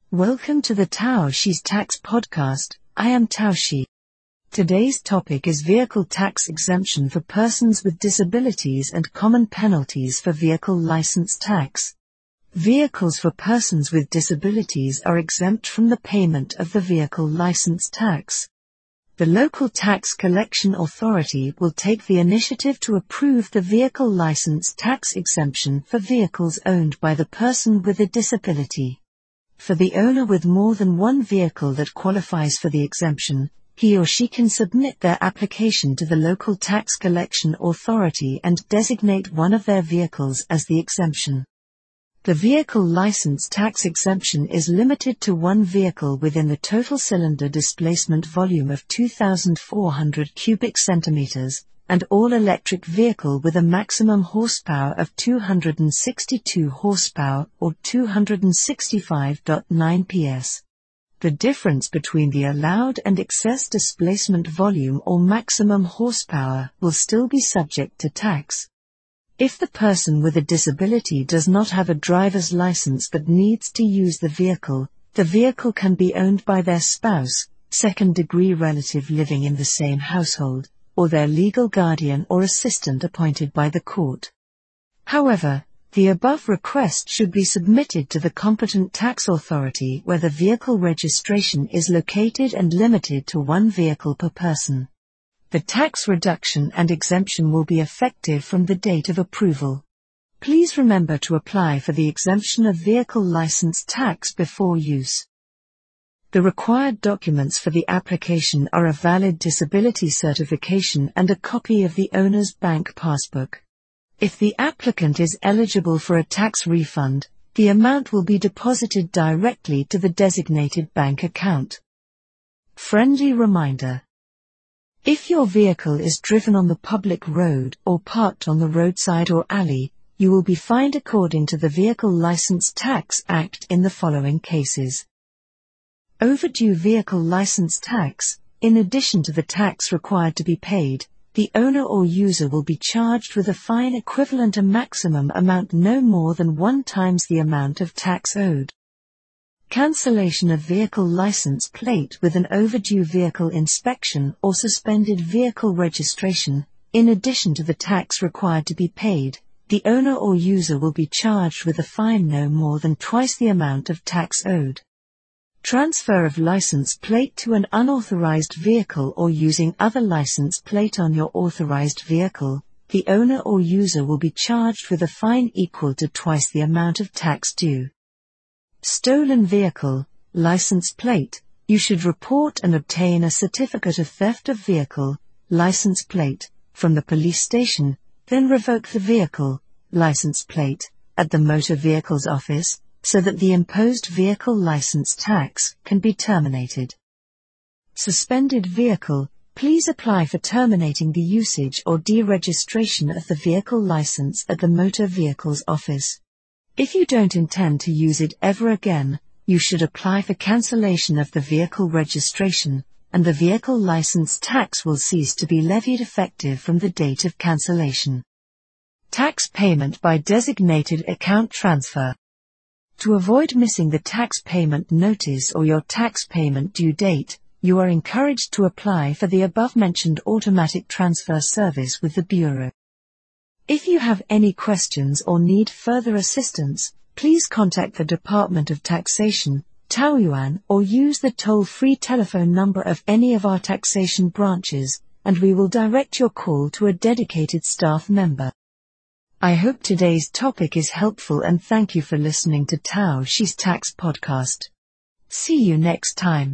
Welcome to the Taoxi's Tax Podcast. I am Taoxi. Today's topic is vehicle tax exemption for persons with disabilities and common penalties for vehicle license tax. Vehicles for persons with disabilities are exempt from the payment of the vehicle license tax. The local tax collection authority will take the initiative to approve the vehicle license tax exemption for vehicles owned by the person with a disability. For the owner with more than one vehicle that qualifies for the exemption, he or she can submit their application to the local tax collection authority and designate one of their vehicles as the exemption. The vehicle license tax exemption is limited to one vehicle within the total cylinder displacement volume of 2,400 cubic centimeters, and all-electric vehicle with a maximum horsepower of 262 horsepower or 265.9 PS. The difference between the allowed and excess displacement volume or maximum horsepower will still be subject to tax. If the person with a disability does not have a driver's license but needs to use the vehicle can be owned by their spouse, second-degree relative living in the same household, or their legal guardian or assistant appointed by the court. However, the above request should be submitted to the competent tax authority where the vehicle registration is located and limited to one vehicle per person. The tax reduction and exemption will be effective from the date of approval. Please remember to apply for the exemption of vehicle license tax before use. The required documents for the application are a valid disability certification and a copy of the owner's bank passbook. If the applicant is eligible for a tax refund, the amount will be deposited directly to the designated bank account. Friendly reminder. If your vehicle is driven on the public road or parked on the roadside or alley, you will be fined according to the Vehicle License Tax Act in the following cases. Overdue vehicle license tax. In addition to the tax required to be paid, the owner or user will be charged with a fine equivalent a maximum amount no more than 1 times the amount of tax owed. Cancellation of vehicle license plate with an overdue vehicle inspection or suspended vehicle registration. In addition to the tax required to be paid, the owner or user will be charged with a fine no more than twice the amount of tax owed. Transfer of license plate to an unauthorized vehicle or using other license plate on your authorized vehicle, the owner or user will be charged with a fine equal to twice the amount of tax due. Stolen vehicle, license plate. You should report and obtain a certificate of theft of vehicle, license plate, from the police station, then revoke the vehicle, license plate, at the motor vehicles office, so that the imposed vehicle license tax can be terminated. Suspended vehicle. Please apply for terminating the usage or deregistration of the vehicle license at the motor vehicles office. If you don't intend to use it ever again, you should apply for cancellation of the vehicle registration, and the vehicle license tax will cease to be levied effective from the date of cancellation. Tax payment by designated account transfer. To avoid missing the tax payment notice or your tax payment due date, you are encouraged to apply for the above-mentioned automatic transfer service with the Bureau. If you have any questions or need further assistance, please contact the Department of Taxation, Taoyuan, or use the toll-free telephone number of any of our taxation branches, and we will direct your call to a dedicated staff member. I hope today's topic is helpful and thank you for listening to Taoxi's Tax Podcast. See you next time.